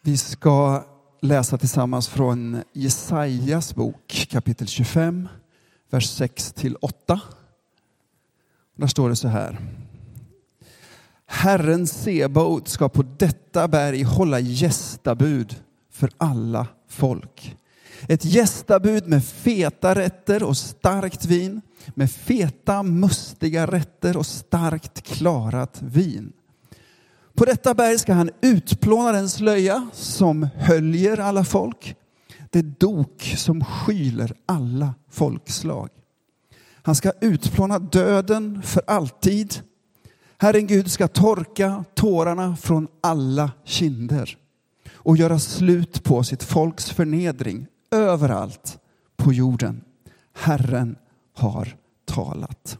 Vi ska läsa tillsammans från Jesajas bok, kapitel 25, vers 6-8. Där står det så här. Herren Sebaot ska på detta berg hålla gästabud för alla folk. Ett gästabud med feta rätter och starkt vin, med feta mustiga rätter och starkt klarat vin. På detta berg ska han utplåna den slöja som höljer alla folk, det dok som skyler alla folkslag. Han ska utplåna döden för alltid. Herren Gud ska torka tårarna från alla kinder och göra slut på sitt folks förnedring överallt på jorden. Herren har talat.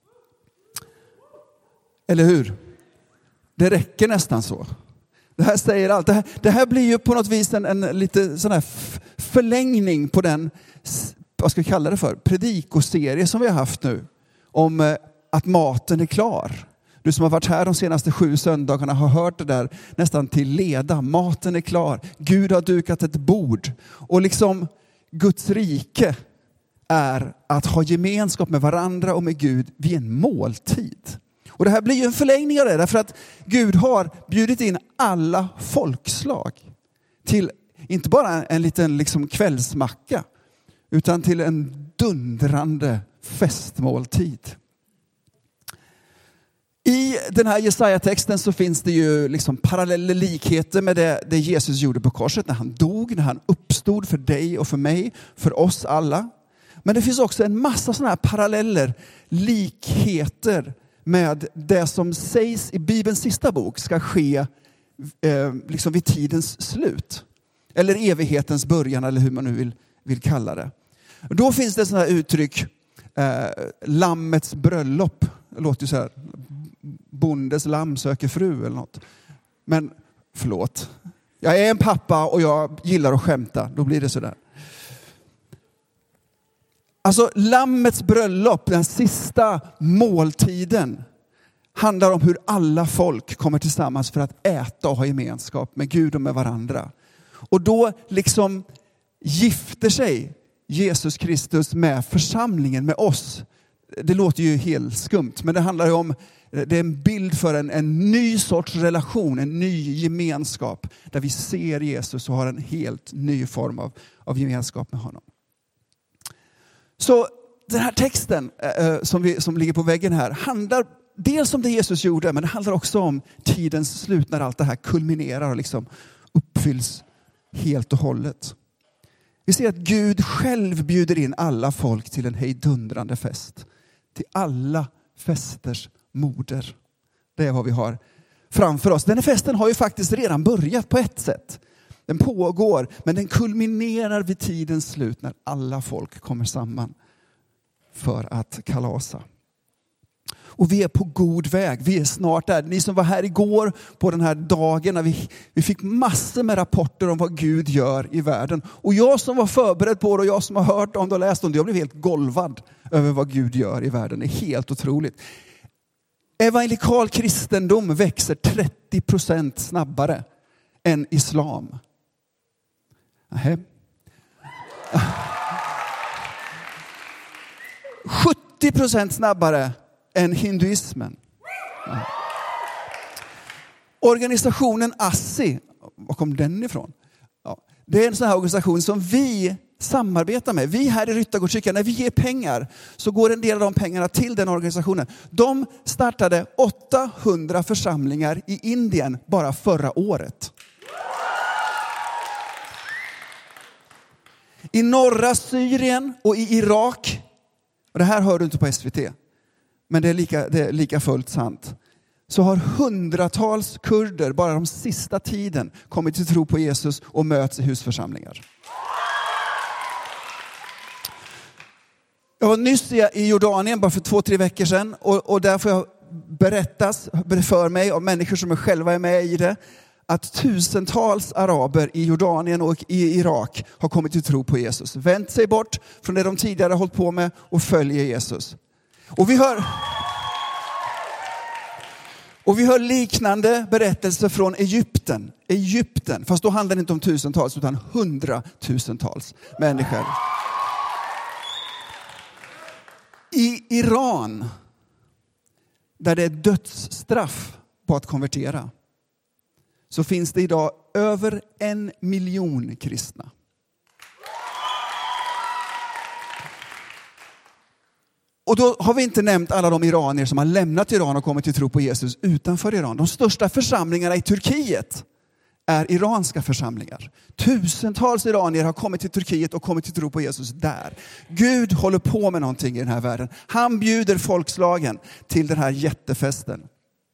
Eller hur? Det räcker nästan så. Det här säger allt. Det här blir ju på något vis en lite sån här förlängning på den, vad ska vi kalla det för, predikoserie som vi har haft nu. Om att maten är klar. Du som har varit här de senaste 7 söndagarna har hört det där nästan till leda. Maten är klar. Gud har dukat ett bord. Och liksom Guds rike är att ha gemenskap med varandra och med Gud vid en måltid. Och det här blir ju en förlängning av det, därför att Gud har bjudit in alla folkslag till inte bara en liten liksom kvällsmacka, utan till en dundrande festmåltid. I den här Jesaja-texten så finns det ju liksom paralleller, likheter med det Jesus gjorde på korset när han dog, när han uppstod för dig och för mig, för oss alla. Men det finns också en massa sådana här paralleller, likheter med det som sägs i Bibelns sista bok ska ske liksom vid tidens slut. Eller evighetens början, eller hur man nu vill kalla det. Då finns det sådana här uttryck, lammets bröllop. Det låter ju så här, bondes lamm söker fru eller något. Men förlåt, jag är en pappa och jag gillar att skämta, då blir det så där. Alltså lammets bröllop, den sista måltiden, handlar om hur alla folk kommer tillsammans för att äta och ha gemenskap med Gud och med varandra. Och då liksom gifter sig Jesus Kristus med församlingen, med oss. Det låter ju helt skumt, men det handlar ju om, det är en bild för en ny sorts relation, en ny gemenskap där vi ser Jesus och har en helt ny form av gemenskap med honom. Så den här texten som ligger på väggen här handlar dels om det Jesus gjorde, men det handlar också om tidens slut när allt det här kulminerar och liksom uppfylls helt och hållet. Vi ser att Gud själv bjuder in alla folk till en hejdundrande fest. Till alla festers moder. Det är vad vi har framför oss. Den här festen har ju faktiskt redan börjat på ett sätt. Den pågår, men den kulminerar vid tidens slut när alla folk kommer samman för att kalasa. Och vi är på god väg. Vi är snart där. Ni som var här igår på den här dagen när vi fick massor med rapporter om vad Gud gör i världen. Och jag som var förberedd på det och jag som har hört om det och läst om det, jag blev helt golvad över vad Gud gör i världen. Det är helt otroligt. Evangelikal kristendom växer 30% snabbare än islam. 70% snabbare än hinduismen. Organisationen ASSI, var kom den ifrån? Ja, det är en sån här organisation som vi samarbetar med. Vi här i Ryttargårdskyrkan, när vi ger pengar så går en del av de pengarna till den organisationen. De startade 800 församlingar i Indien bara förra året. I norra Syrien och i Irak, och det här hör du inte på SVT, men det är lika fullt sant, så har hundratals kurder bara de sista tiden kommit till tro på Jesus och möts i husförsamlingar. Jag var nyss i Jordanien bara för 2-3 veckor sedan och där får jag berättas för mig av människor som själva är med i det, att tusentals araber i Jordanien och i Irak har kommit till tro på Jesus. Vänt sig bort från det de tidigare hållit på med och följer Jesus. Och vi hör... Och vi hör liknande berättelser från Egypten. Fast då handlar det inte om tusentals utan 100-tusentals människor. I Iran, där det är dödsstraff på att konvertera, så finns det idag över 1 miljon kristna. Och då har vi inte nämnt alla de iranier som har lämnat Iran och kommit till tro på Jesus utanför Iran. De största församlingarna i Turkiet är iranska församlingar. Tusentals iranier har kommit till Turkiet och kommit till tro på Jesus där. Gud håller på med någonting i den här världen. Han bjuder folkslagen till den här jättefesten.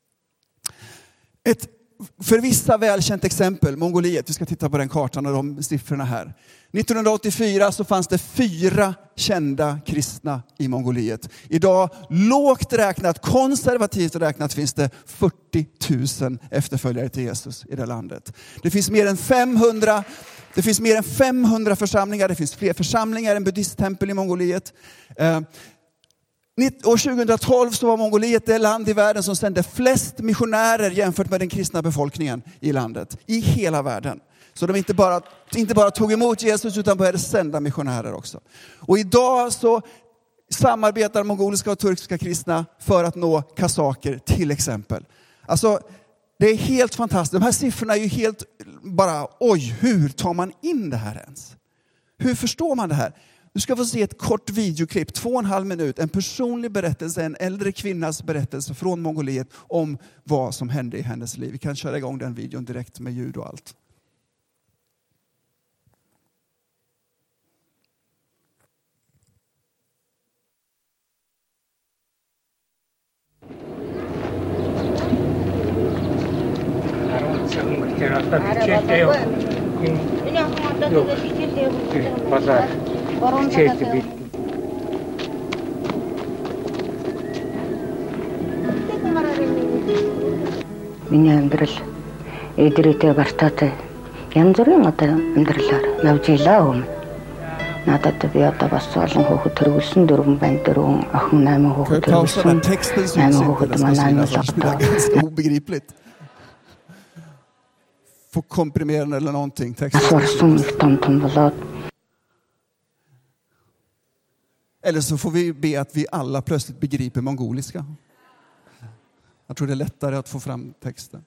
Ett för vissa välkänt exempel, Mongoliet. Vi ska titta på den kartan och de siffrorna här. 1984 så fanns det 4 kända kristna i Mongoliet. Idag, lågt räknat, konservativt räknat, finns det 40 000 efterföljare till Jesus i det landet. Det finns mer än 500 församlingar. Det finns fler församlingar än buddhisttempel i Mongoliet. År 2012 så var Mongoliet det land i världen som sände flest missionärer jämfört med den kristna befolkningen i landet. I hela världen. Så de inte bara tog emot Jesus utan började sända missionärer också. Och idag så samarbetar mongoliska och turkiska kristna för att nå kazaker till exempel. Alltså det är helt fantastiskt. De här siffrorna är ju helt bara, oj, hur tar man in det här ens? Hur förstår man det här? Du ska få se ett kort videoklipp, 2,5 minut, en personlig berättelse, en äldre kvinnas berättelse från Mongoliet om vad som hände i hennes liv. Vi kan köra igång den videon direkt med ljud och allt. Миний амьдрал эдрээтэй бартаатай янз бүрийн одоо амьдралаар явж илаа өмнө. Надад би одоо бас олон хүүхэд төрүүлсэн 4 байна, 4 охин 8 хүүхэд төрүүлсэн. 8 хүүхэд манай obegripligt. Få komprimera eller någonting. Eller så får vi be att vi alla plötsligt begriper mongoliska. Jag tror det är lättare att få fram texten.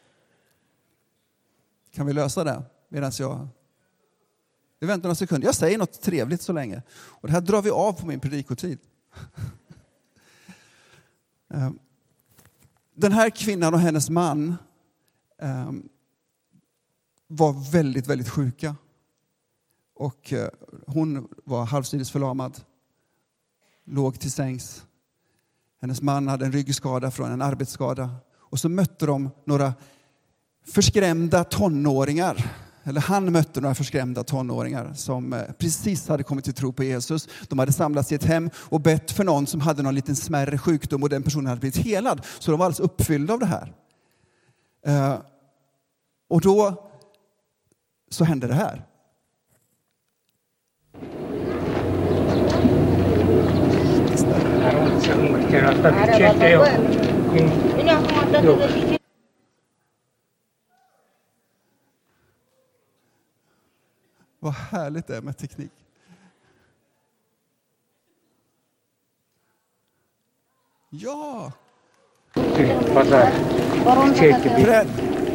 Kan vi lösa det? Medan vi väntar några sekunder. Jag säger något trevligt så länge. Och det här drar vi av på min predikotid. Den här kvinnan och hennes man var väldigt, väldigt sjuka. Och hon var halvsidesförlamad. Låg till sängs. Hennes man hade en ryggskada från en arbetsskada. Och så mötte de några förskrämda tonåringar. Eller han mötte några förskrämda tonåringar som precis hade kommit till tro på Jesus. De hade samlats i ett hem och bett för någon som hade någon liten smärre sjukdom. Och den personen hade blivit helad. Så de var alldeles uppfyllda av det här. Och då så hände det här. Vad härligt det är med teknik. Ja! Bredd.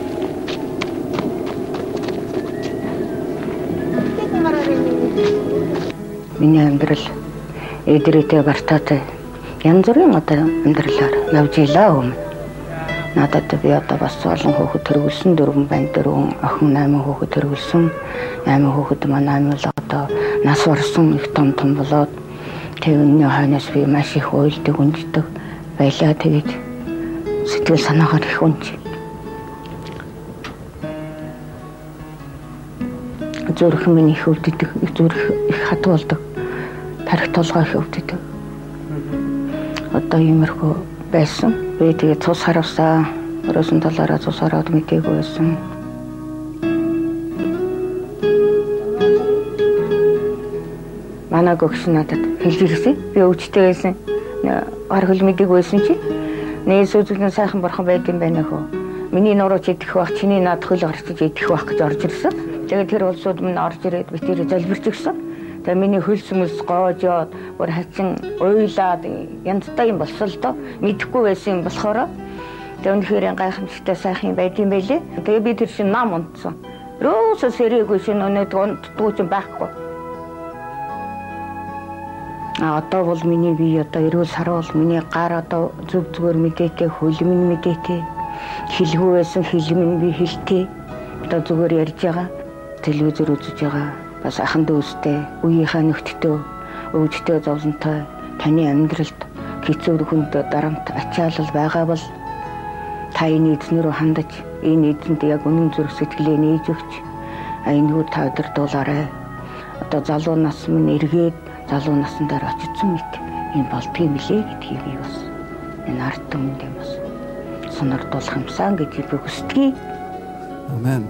Миний амьдрал эдрээтэй бартаатай янз бүрийн одоо амьдралаар явж илаа өмнө. Надад би одоо бас олон хүүхэд төрүүлсэн 4 байна, 4 охин 8 хүүхэд төрүүлсэн. 8 хүүхэд манай бол одоо нас барсан их том болоод тэрний хойноос би маш их уйлдаг, унждаг байлаа. Тэгээд сэтгэл санаагаар их унж. Зүрх минь их өвддөг, зүрх их хат болдог. Тарих толгой их өвддөг. Одоо иймэрхүү байсан. Би тэгээд цус харавсаа, өрөөсөн талаараа цус хараад мэтээгүй байсан. Манай гогш надад хэлж ирсэн. Би өвчтэй байсан. Гар хөл мэдэг байсан чи Нээсүүдэн сайхан бурхан байд юм байна хөө. Миний нуруу идэх байх, чиний наад хөл гарчиж идэх байх гэж орж ирсэн. Тэгээд тэр улсууд минь орж ирээд би тэр залбирч өгсөн. Тэгээд миний хөлс мөс гоожоод бүр хачин уйлаад янзтай юм болсон л доо. Мэдэхгүй байсан юм болохоор тэгээд үнэхээр гайхамшигтай сайхан байд юм байлээ. Тэгээд би тэр чинь нам унтсан. Рөөсө сэрээгүй шинэ өнөд унтдгүй ч байхгүй. Одоо бол миний бие одоо эрүүл сар бол миний гар одоо зүг зүгээр мэдээтэй, хөл минь мэдээтэй. Хэлгүй байсан хэл минь би хэлтэй. Одоо зүгээр ярьж байгаа. Телевизээр үзэж байгаа. Бас ахын дүүстэй, үеийнхээ нөхдөдөө, өвчтөө зовлонтой таны амьдралд хэцүү хүнд дарамт ачаалал байгаа бол та энэ эзнэрөө хандаж энэ эзэнд яг үнэн зүрх сэтгэлээ нээж өгч энэгүй та өдөрдуулаарай. Одоо залуу нас минь эргээд залуу насн дээр очсон мэт энэ болдгийм билээ гэдгийг би бас энэ ард түмэнд юм бас сонирдуулах юмсан гэдгийг би хүсдэг. Amen.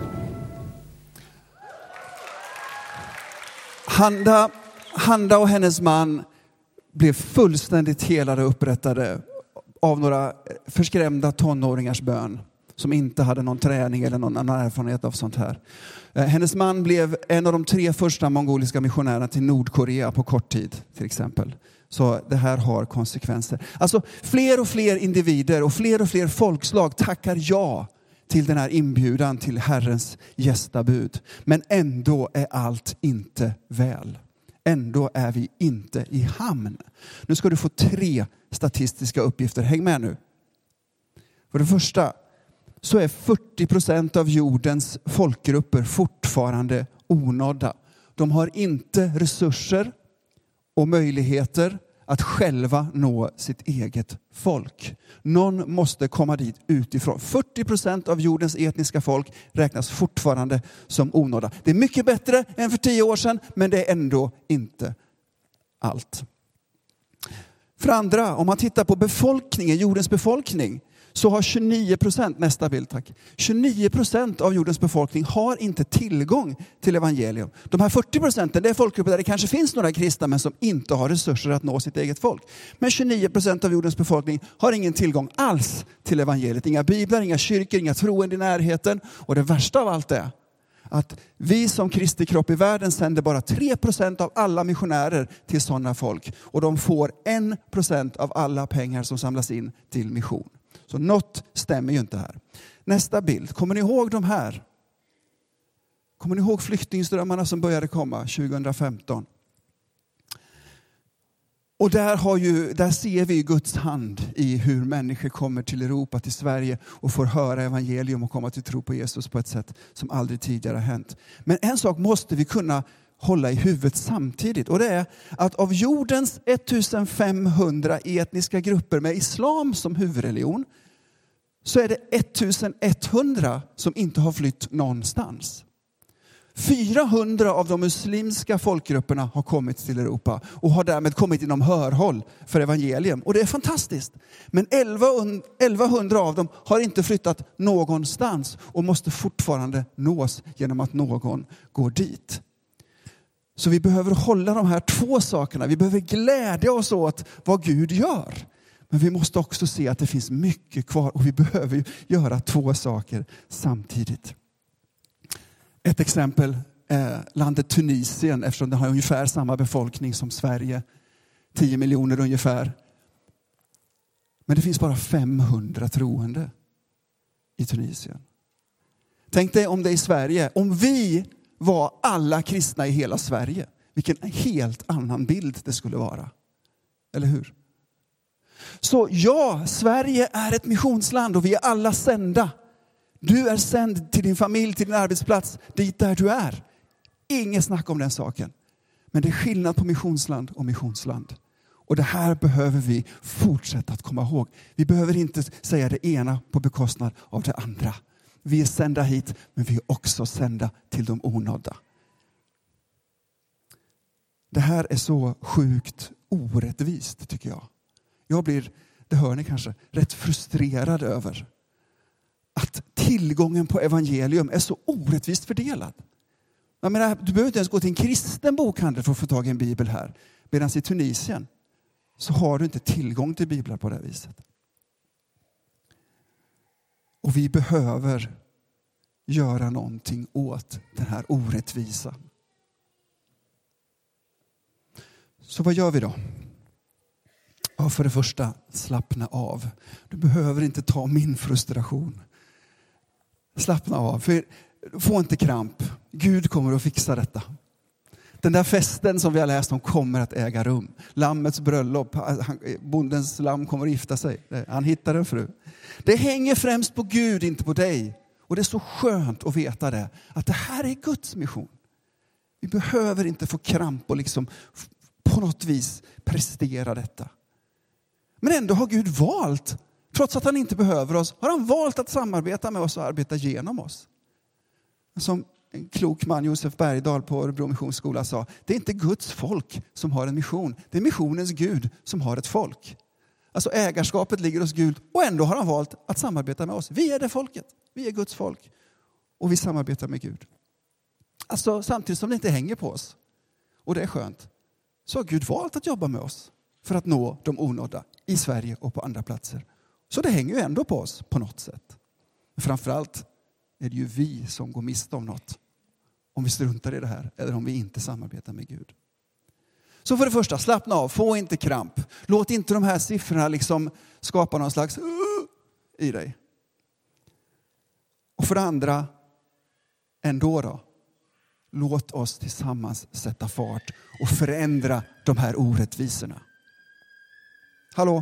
Handa och hennes man blev fullständigt helade och upprättade av några förskrämda tonåringars bön som inte hade någon träning eller någon annan erfarenhet av sånt här. Hennes man blev en av de 3 första mongoliska missionärerna till Nordkorea på kort tid till exempel. Så det här har konsekvenser. Alltså fler och fler individer och fler folkslag tackar ja till den här inbjudan till Herrens gästabud. Men ändå är allt inte väl. Ändå är vi inte i hamn. Nu ska du få 3 statistiska uppgifter. Häng med nu. För det första så är 40% av jordens folkgrupper fortfarande onådda. De har inte resurser och möjligheter att själva nå sitt eget folk. Någon måste komma dit utifrån. 40% av jordens etniska folk räknas fortfarande som onådda. Det är mycket bättre än för 10 år sedan, men det är ändå inte allt. För andra, om man tittar på befolkningen, jordens befolkning, så har 29%, nästa bild tack, 29% av jordens befolkning har inte tillgång till evangelium. De här 40% det är folkgrupper där det kanske finns några kristna men som inte har resurser att nå sitt eget folk. Men 29% av jordens befolkning har ingen tillgång alls till evangeliet. Inga biblar, inga kyrkor, inga troende i närheten. Och det värsta av allt är att vi som Kristi kropp i världen sänder bara 3% av alla missionärer till sådana folk. Och de får 1% av alla pengar som samlas in till mission. Så något stämmer ju inte här. Nästa bild. Kommer ni ihåg de här? Kommer ni ihåg flyktingströmmarna som började komma 2015? Och där ser vi Guds hand i hur människor kommer till Europa, till Sverige och får höra evangelium och komma till tro på Jesus på ett sätt som aldrig tidigare har hänt. Men en sak måste vi kunna hålla i huvudet samtidigt. Och det är att av jordens 1500 etniska grupper med islam som huvudreligion så är det 1100 som inte har flytt någonstans. 400 av de muslimska folkgrupperna har kommit till Europa och har därmed kommit inom hörhåll för evangelium. Och det är fantastiskt. Men 1100 av dem har inte flyttat någonstans och måste fortfarande nås genom att någon går dit. Så vi behöver hålla de här 2 sakerna. Vi behöver glädja oss åt vad Gud gör. Men vi måste också se att det finns mycket kvar och vi behöver göra 2 saker samtidigt. Ett exempel är landet Tunisien, eftersom det har ungefär samma befolkning som Sverige. 10 miljoner ungefär. Men det finns bara 500 troende i Tunisien. Tänk dig om det i Sverige, om vi var alla kristna i hela Sverige. Vilken helt annan bild det skulle vara. Eller hur? Så ja, Sverige är ett missionsland och vi är alla sända. Du är sänd till din familj, till din arbetsplats, dit där du är. Inget snack om den saken. Men det är skillnad på missionsland och missionsland. Och det här behöver vi fortsätta att komma ihåg. Vi behöver inte säga det ena på bekostnad av det andra. Vi är sända hit, men vi är också sända till de onådda. Det här är så sjukt orättvist tycker jag. Jag blir, det hör ni kanske, rätt frustrerad över att tillgången på evangelium är så orättvist fördelad. Jag menar, du behöver inte ens gå till en kristen bokhandel för att få tag i en bibel här. Medan i Tunisien så har du inte tillgång till biblar på det viset. Och vi behöver göra någonting åt den här orättvisan. Så vad gör vi då? Ja, för det första, slappna av. Du behöver inte ta min frustration. Slappna av, för få inte kramp. Gud kommer att fixa detta. Den där festen som vi har läst om kommer att äga rum. Lammets bröllop, bondens lamm kommer att gifta sig. Han hittar en fru. Det hänger främst på Gud, inte på dig. Och det är så skönt att veta det. Att det här är Guds mission. Vi behöver inte få kramp och liksom på något vis prestera detta. Men ändå har Gud valt, trots att han inte behöver oss, har han valt att samarbeta med oss och arbeta genom oss. Som en klok man, Josef Bergdahl på Örebro Missionsskola, sa, det är inte Guds folk som har en mission. Det är missionens Gud som har ett folk. Alltså ägarskapet ligger hos Gud och ändå har han valt att samarbeta med oss. Vi är det folket. Vi är Guds folk. Och vi samarbetar med Gud. Alltså samtidigt som det inte hänger på oss. Och det är skönt. Så har Gud valt att jobba med oss för att nå de onådda i Sverige och på andra platser. Så det hänger ju ändå på oss på något sätt. Men framförallt är det ju vi som går miste om något. Om vi struntar i det här eller om vi inte samarbetar med Gud. Så för det första, slappna av, få inte kramp. Låt inte de här siffrorna liksom skapa någon slags i dig. Och för det andra, ändå då. Låt oss tillsammans sätta fart och förändra de här orättvisorna. Hallå?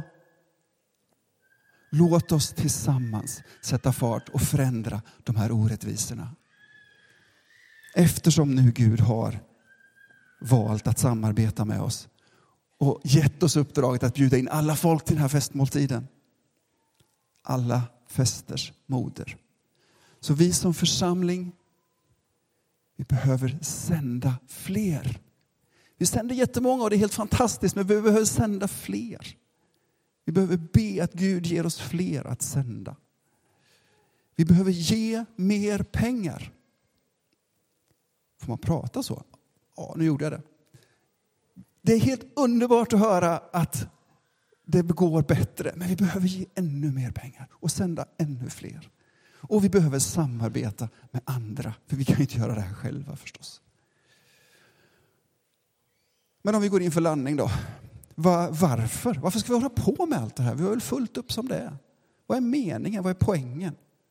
Låt oss tillsammans sätta fart och förändra de här orättvisorna. Eftersom nu Gud har valt att samarbeta med oss och gett oss uppdraget att bjuda in alla folk till den här festmåltiden. Alla festers moder. Så vi som församling, vi behöver sända fler. Vi sänder jättemånga och det är helt fantastiskt, men vi behöver sända fler. Vi behöver be att Gud ger oss fler att sända. Vi behöver ge mer pengar. Får man prata så? Ja, nu gjorde jag det. Det är helt underbart att höra att det går bättre. Men vi behöver ge ännu mer pengar och sända ännu fler. Och vi behöver samarbeta med andra. För vi kan inte göra det här själva förstås. Men om vi går in för landning då. Varför? Varför ska vi hålla på med allt det här? Vi har väl fullt upp som det är. Vad är meningen? Vad är poängen?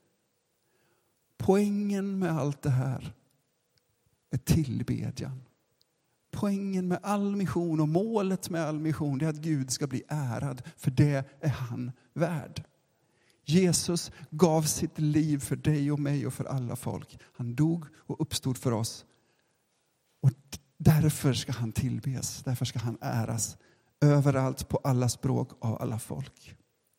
Poängen med allt det här är tillbedjan. Poängen med all mission och målet med all mission är att Gud ska bli ärad. För det är han värd. Jesus gav sitt liv för dig och mig och för alla folk. Han dog och uppstod för oss. Och därför ska han tillbes. Därför ska han äras. Överallt på alla språk av alla folk.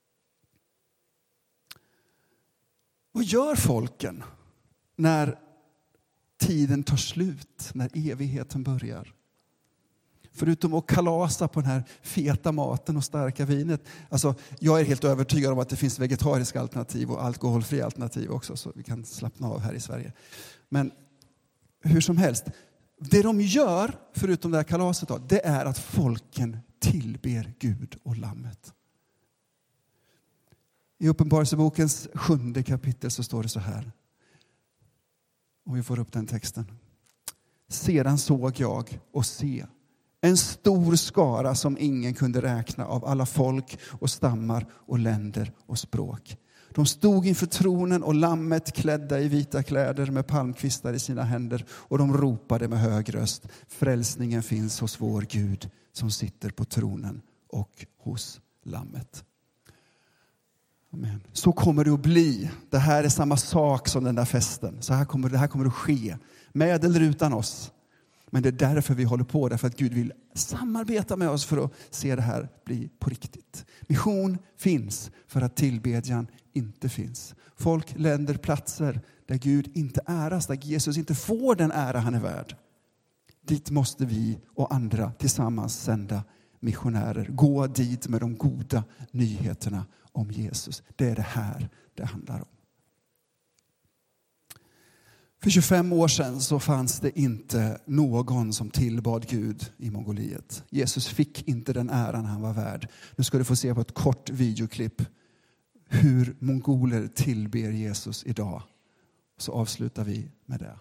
Vad gör folken när tiden tar slut? När evigheten börjar? Förutom att kalasa på den här feta maten och starka vinet. Alltså, jag är helt övertygad om att det finns vegetariska alternativ och alkoholfria alternativ också. Så vi kan slappna av här i Sverige. Men hur som helst. Det de gör, förutom det här kalaset då, det är att folken tillber Gud och lammet. I Uppenbarelsebokens 7:e kapitel så står det så här. Och vi får upp den texten. Sedan såg jag och se en stor skara som ingen kunde räkna av alla folk och stammar och länder och språk. De stod inför tronen och lammet klädda i vita kläder med palmkvistar i sina händer. Och de ropade med hög röst. Frälsningen finns hos vår Gud som sitter på tronen och hos lammet. Amen. Så kommer det att bli. Det här är samma sak som den där festen. Så det här kommer att ske. Med eller utan oss. Men det är därför vi håller på. Därför att Gud vill samarbeta med oss för att se det här bli på riktigt. Mission finns för att tillbedjan inte finns. Folk, länder, platser där Gud inte äras. Där Jesus inte får den ära han är värd. Dit måste vi och andra tillsammans sända missionärer. Gå dit med de goda nyheterna om Jesus. Det är det här det handlar om. För 25 år sedan så fanns det inte någon som tillbad Gud i Mongoliet. Jesus fick inte den äran han var värd. Nu ska du få se på ett kort videoklipp hur mongoler tillber Jesus idag. Så avslutar vi med det.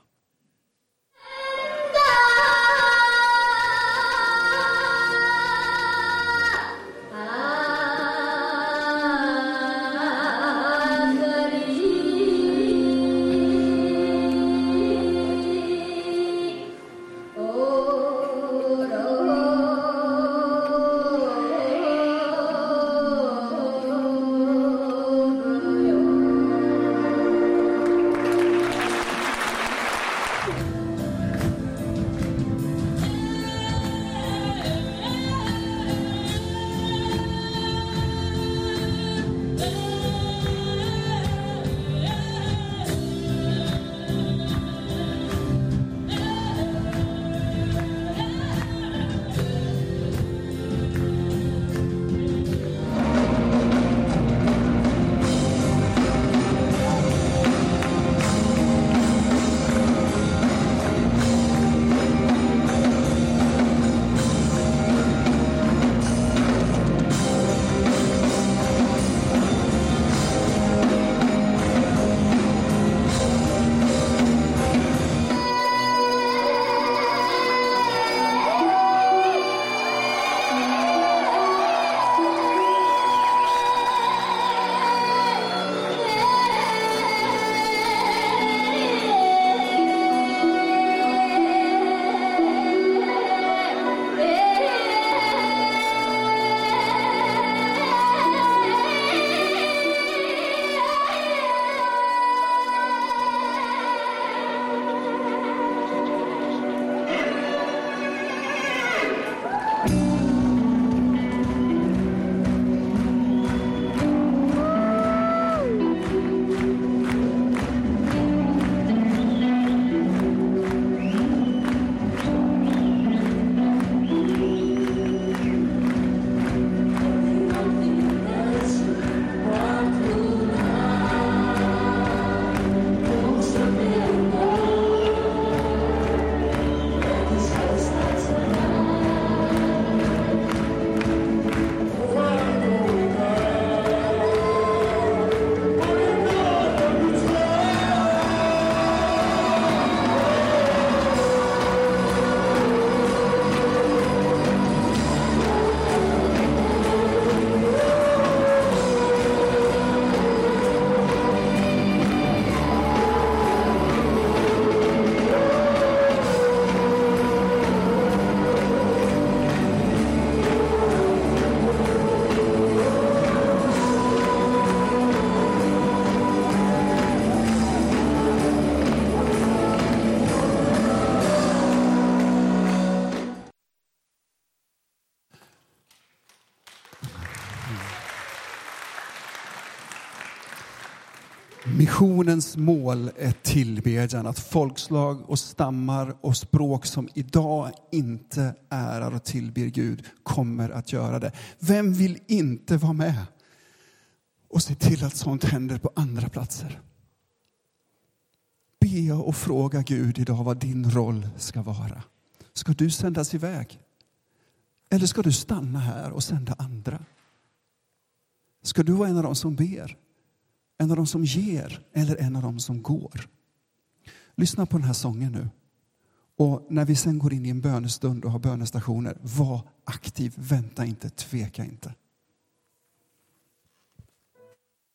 Missionens mål är tillbedjan, att folkslag och stammar och språk som idag inte ärar och tillber Gud kommer att göra det. Vem vill inte vara med och se till att sånt händer på andra platser? Be och fråga Gud idag vad din roll ska vara. Ska du sändas iväg? Eller ska du stanna här och sända andra? Ska du vara en av dem som ber? En av dem som ger eller en av dem som går? Lyssna på den här sången nu. Och när vi sen går in i en bönestund och har bönestationer, var aktiv, vänta inte, tveka inte.